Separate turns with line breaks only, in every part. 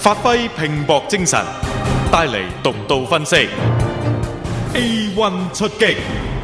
發揮拼搏精神，帶嚟獨到分析。A1 出擊。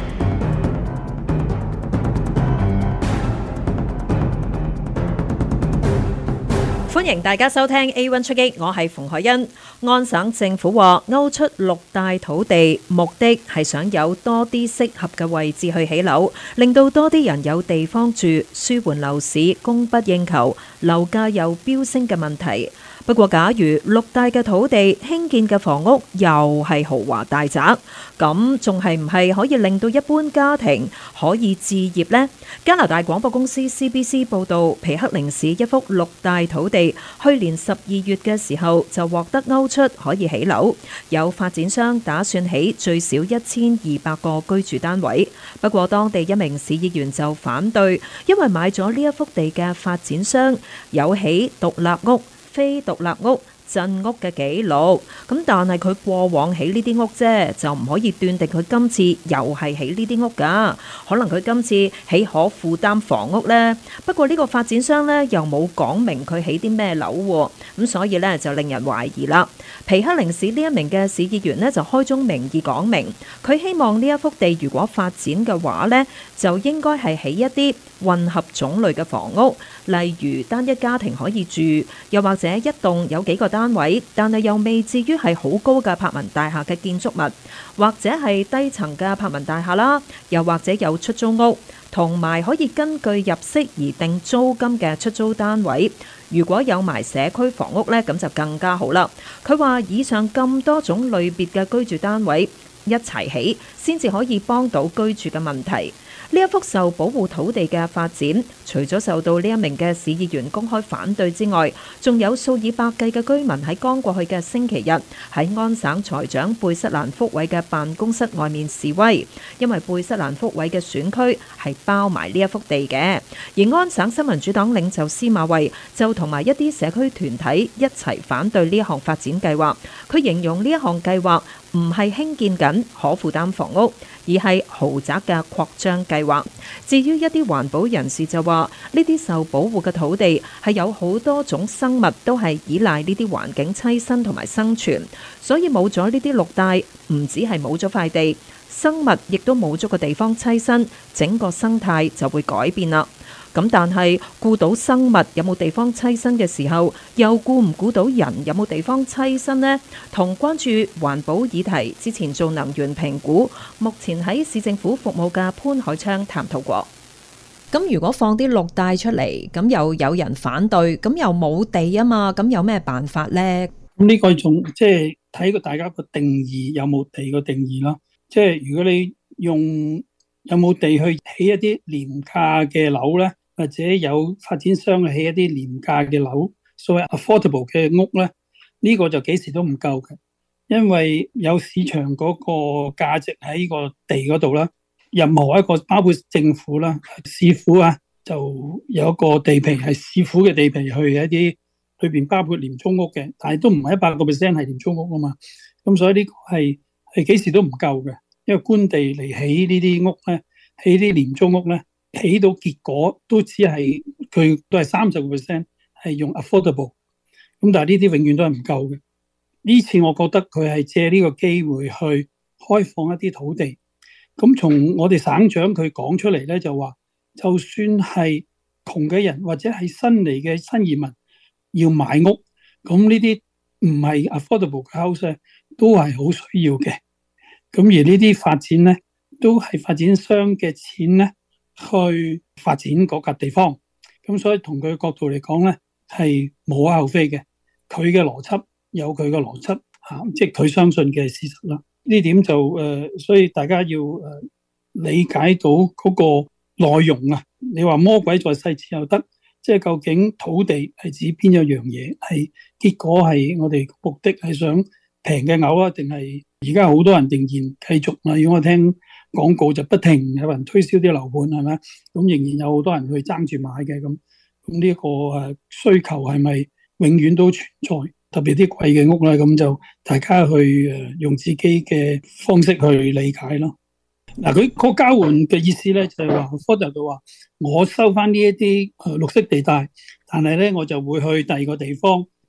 歡迎大家收聽 A1 出擊，我係馮海欣。安省政府話勾出6大土地，目的係想有多啲適合嘅位置去起樓，令到多啲人有地方住，舒緩樓市供不應求、樓價又飆升嘅問題。不過，假如6大嘅土地興建嘅房屋又係豪華大宅，咁仲係唔係可以令到一般家庭可以置業呢？加拿大廣播公司 CBC 報導，皮克靈市一幅6大土地，去年12月嘅時候就獲得勾出可以起樓，有發展商打算起最少1200個居住單位。不過，當地一名市議員就反對，因為買咗呢一幅地嘅發展商有起獨立屋、非獨立屋、鎮屋嘅記錄，咁但係佢過往起呢啲屋啫，就唔可以斷定佢今次又係起呢啲屋㗎。可能佢今次起可負擔房屋呢。不過呢個發展商呢，又冇講明佢起啲咩樓喎，咁所以呢，就令人懷疑啦。皮克靈市呢一名嘅市議員呢，就開宗明義講明，佢希望呢一幅地如果發展嘅話呢，就應該係起一啲混合種類嘅房屋，例如單一家庭可以住，又或者一棟有幾個單位，但係又未至於係好高嘅柏文大廈嘅建築物，或者係低層嘅柏文大廈啦，又或者有出租屋，同埋可以根據入息而定租金嘅出租單位。如果有埋社區房屋呢，咁就更加好啦。佢話以上咁多種類別嘅居住單位一齊起，先至可以幫到居住嘅問題。呢一幅受保護土地嘅發展，除咗受到呢一名嘅市議員公開反對之外，仲有數以百計嘅居民喺剛過去嘅星期日喺安省財長貝瑟蘭福韋嘅辦公室外面示威，因為貝瑟蘭福韋嘅選區係包埋呢一幅地嘅。而安省新民主黨領袖司馬慧就同埋一啲社區團體一齊反對呢一項發展計劃。佢形容呢一項計劃唔係興建緊可負擔房屋，而係豪宅嘅擴張計劃。至於一啲環保人士就話，呢啲受保護嘅土地係有好多種生物都係依賴呢啲環境棲身同埋生存，所以冇咗呢啲綠帶，唔止係冇咗塊地，生物亦都冇咗個地方棲身，整個生態就會改變啦。咁但係顧到生物有冇地方棲身嘅時候，又顧唔顧到人有冇地方棲身呢？同關注環保議題之前做能源評估，目前喺市政府服務嘅潘海昌探討過。咁如果放啲綠帶出嚟，咁又有人反對，咁又冇地啊嘛，咁有咩辦法呢？
咁呢個仲即係睇個大家個定義，有冇地個定義啦。即係如果你用有冇地去起一啲廉價嘅樓咧，或者有發展商起一啲廉價嘅樓，所謂 affordable 嘅屋咧，呢個就幾時都唔夠嘅，因為有市場嗰個價值喺個地嗰度啦。任何一個包括政府啦、市府啊，就有一個地皮係市府嘅地皮，去一啲裏邊包括廉租屋嘅，但係都唔係100% 係廉租屋啊嘛。咁所以呢個係幾時都唔夠嘅，因為官地嚟起呢啲屋咧，起啲廉租屋咧，起到結果都只係佢都係30% 係用 affordable， 咁但係呢啲永遠都係唔夠嘅。呢次我覺得佢係借呢個機會去開放一啲土地。咁從我哋省長佢講出嚟咧，就話就算係窮嘅人或者係新嚟嘅新移民要買屋，咁呢啲唔係 affordable 嘅 house 都係好需要嘅。咁而呢啲發展咧，都係發展商嘅錢咧去發展嗰個地方。咁所以從佢角度嚟講咧，係無可厚非嘅。佢嘅邏輯有佢嘅邏輯嚇，即係佢相信嘅事實啦。呢點就所以大家要理解到嗰個內容啊。你話魔鬼在細節又得，即係究竟土地係指邊一樣嘢？係結果係我哋目的係想平嘅樓啊，定係而家好多人仍然繼續啊？如果我聽廣告就不停有人推銷啲樓盤係咪？咁仍然有好多人去爭住買嘅咁。咁呢個需求係咪永遠都存在？特別啲貴嘅屋啦，咁就大家去用自己嘅方式去理解咯。嗱，佢個交換嘅意思咧，就係話 Ford 就話我收翻呢一啲綠色地帶，但係咧我就會去第二個地方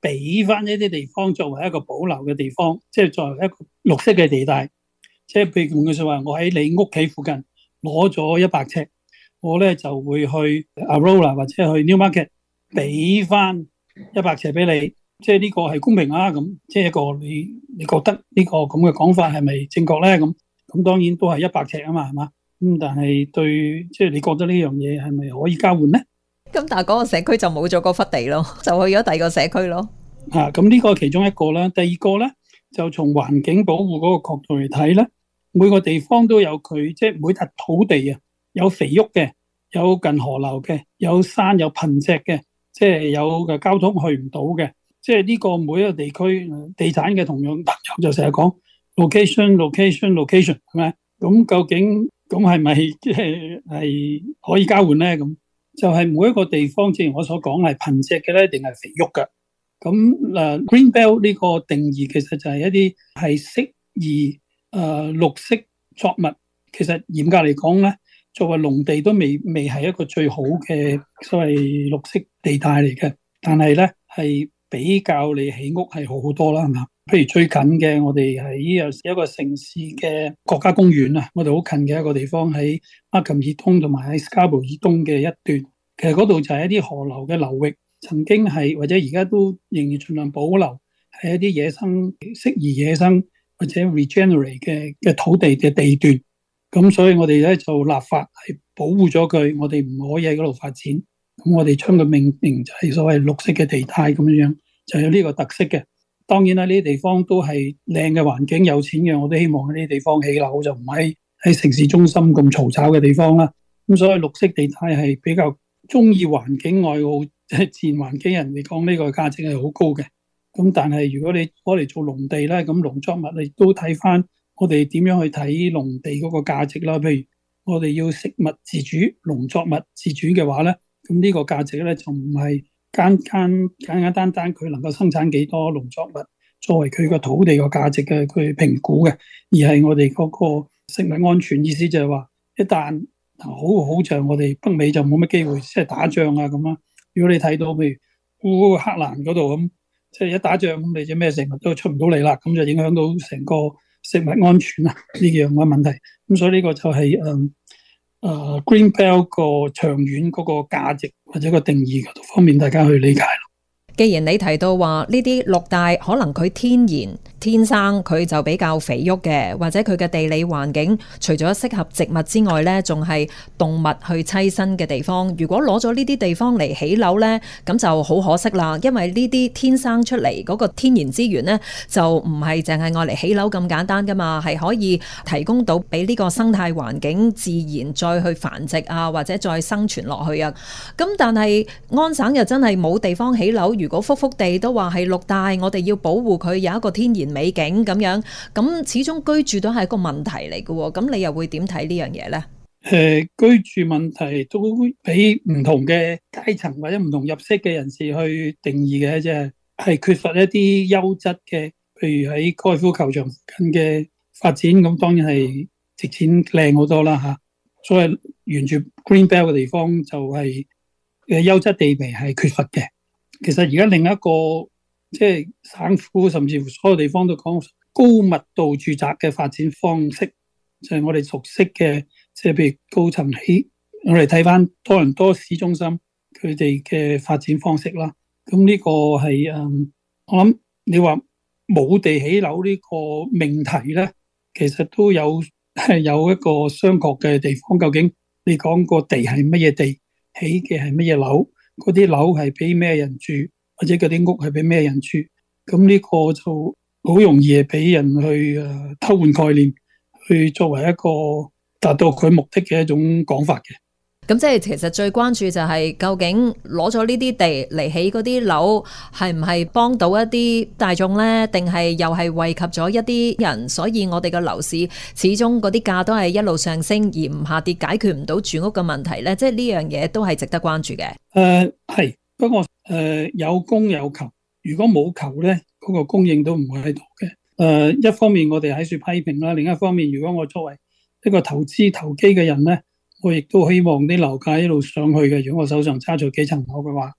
俾翻一啲地方作為一個保留嘅地方，即係作為一個綠色嘅地帶。即係譬如換句說話，我喺你屋企附近攞咗100尺，我咧就會去 Aurora 或者去 Newmarket 俾翻100尺俾你。即係呢個係公平啊，咁即係一個你覺得呢個咁嘅講法係咪正確咧？咁當然都係100尺啊嘛，係嘛？咁但係對，即係你覺得呢樣嘢係咪可以交換咧？
咁但係嗰個社區就冇咗嗰忽地咯，就去咗第二個社區咯。
咁呢個係其中一個啦。第二個咧就從環境保護嗰個角度嚟睇咧，每個地方都有佢，即係每笪土地啊，有肥沃嘅，有近河流嘅，有山有貧瘠嘅，即係有嘅交通去唔到嘅。即係呢個每一個地區地產嘅同樣朋友就成日講 location 係咪？咁究竟咁係咪即係可以交換咧？咁就係每一個地方，正如我所講係貧瘠嘅咧，定係肥沃嘅？咁Green Belt 呢個定義其實就係一啲係適宜綠色作物。其實嚴格嚟講咧，作為農地都未係一個最好嘅所謂綠色地帶嚟嘅，但係咧係比較你起屋係好好多啦，係嘛？譬如最近嘅，我哋喺一個城市嘅國家公園啊，我哋好近嘅一個地方喺馬琴以東同埋喺 Scarborough 以東嘅一段，其實嗰度就係一啲河流嘅流域，曾經係或者而家都仍然盡量保留係一啲野生適宜野生或者 regenerate 嘅土地嘅地段。咁所以我哋咧就立法係保護咗佢，我哋唔可以喺嗰度發展。咁我哋將佢命名就係所謂綠色嘅地帶咁樣，就有呢個特色嘅。當然啦，呢啲地方都係靚嘅環境，有錢嘅我都希望喺呢啲地方起樓，就唔喺城市中心咁嘈吵嘅地方啦。咁所以綠色地帶係比較中意環境愛好即係自然環境人嚟講，呢個價值係好高嘅。咁但係如果你攞嚟做農地咧，咁農作物你都睇翻我哋點樣去睇農地嗰個價值啦。譬如我哋要食物自主、農作物自主嘅話咧，咁呢個價值咧就唔係簡單佢能夠生產幾多農作物作為佢個土地個價值嘅佢評估嘅，而係我哋嗰個食物安全。意思就係話，一旦好像我哋北美就冇乜機會即係打仗啊咁啦。如果你睇到譬如烏克蘭嗰度咁，即係一打仗咁，你隻咩食物都出唔到嚟啦，咁就影響到成個食物安全啊呢樣嘅問題。咁所以呢個就係Green Belt 個長遠嗰個價值或者個定義嗰方面，大家去理解。
既然你提到話呢啲綠帶可能佢天生佢就比較肥沃嘅，或者佢嘅地理環境除咗適合植物之外呢，仲係動物去棲身嘅地方。如果攞咗呢啲地方嚟起樓呢，咁就好可惜啦。因為呢啲天生出嚟嗰個天然資源呢，就唔係淨係愛嚟起樓咁簡單噶嘛，係可以提供到俾呢個生態環境自然再去繁殖啊，或者再生存落去啊。咁但係安省又真係冇地方起樓。如果幅地都話係綠帶，我哋要保護佢有一個天然美景咁樣，咁始終居住都係一個問題嚟嘅。咁你又會點睇呢樣嘢呢？
居住問題都俾唔同嘅階層或者唔同入息嘅人士去定義嘅，即係缺乏一啲優質嘅，譬如喺高爾夫球場附近嘅發展，咁當然係值錢靚好多啦吓。所以沿住 Green Belt 嘅地方就係優質地皮係缺乏嘅。其實而家另一個即係省府甚至乎所有地方都講高密度住宅嘅發展方式，就係我哋熟悉嘅，即係譬如高層起，我哋睇翻多倫多市中心佢哋嘅發展方式啦。咁呢個係我諗你話冇地起樓呢個命題咧，其實都有一個商榷嘅地方。究竟你講個地係乜嘢地，起嘅係乜嘢樓？嗰啲樓係俾咩人住，或者嗰啲屋係俾咩人住？咁呢個就好容易係俾人去偷換概念，去作為一個達到佢目的嘅一種講法嘅。
咁即係其實最關注就係究竟攞咗呢啲地嚟起嗰啲樓係唔係幫到一啲大眾呢？定係又係惠及咗一啲人？所以我哋嘅樓市始終嗰啲價都係一路上升而唔下跌，解決唔到住屋嘅問題呢？即係呢樣嘢都係值得關注嘅。
係，不過有供有求，如果冇求呢，嗰個供應都唔會喺度嘅。一方面我哋喺處批評啦，另一方面如果我作為一個投機嘅人呢，我亦都希望啲樓價一路上去嘅。如果我手上揸住幾層樓嘅話，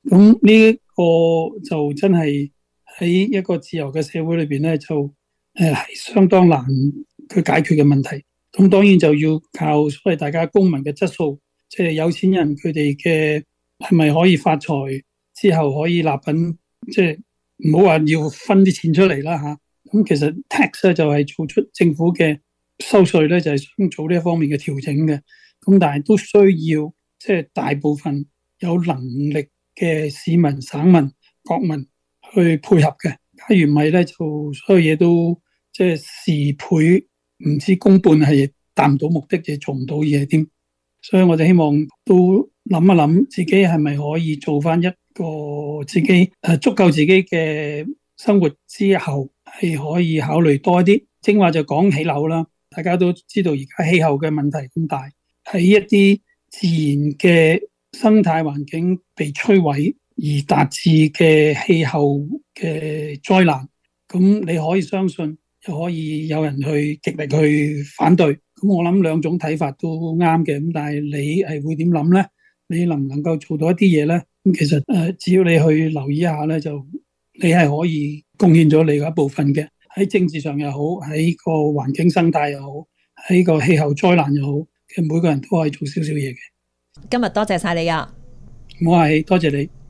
咁呢一個就真係喺一個自由嘅社會裏邊咧，就係相當難去解決嘅問題。咁當然就要靠所謂大家公民嘅質素，即係有錢人佢哋嘅係咪可以發財之後可以立品，即係唔好話要分啲錢出嚟啦嚇。咁其實 tax 咧就係做出政府嘅收稅咧，就係想做呢一方面嘅調整嘅。咁但係都需要即係大部分有能力嘅市民、省民、國民去配合嘅。假如唔係咧，就所有嘢都即係事倍唔知功半，係達唔到目的，就做唔到嘢添。所以我就希望都諗一諗，自己係咪可以做翻一個自己足夠自己嘅生活之後，係可以考慮多一啲。正話就講起樓啦，大家都知道而家氣候嘅問題咁大，喺一啲自然嘅生態環境被摧毀而達至嘅氣候嘅災難，咁你可以相信，又可以有人去極力去反對。咁我諗兩種睇法都啱嘅，咁但係你係會點諗呢？你能唔能夠做到一啲嘢呢？咁其實只要你去留意一下呢，就你係可以貢獻咗你嘅一部分嘅。喺政治上又好，喺個環境生態又好，喺個氣候災難又好，其實每個人都可以做少少嘢嘅。
今日多謝晒你啊！
我係多謝你。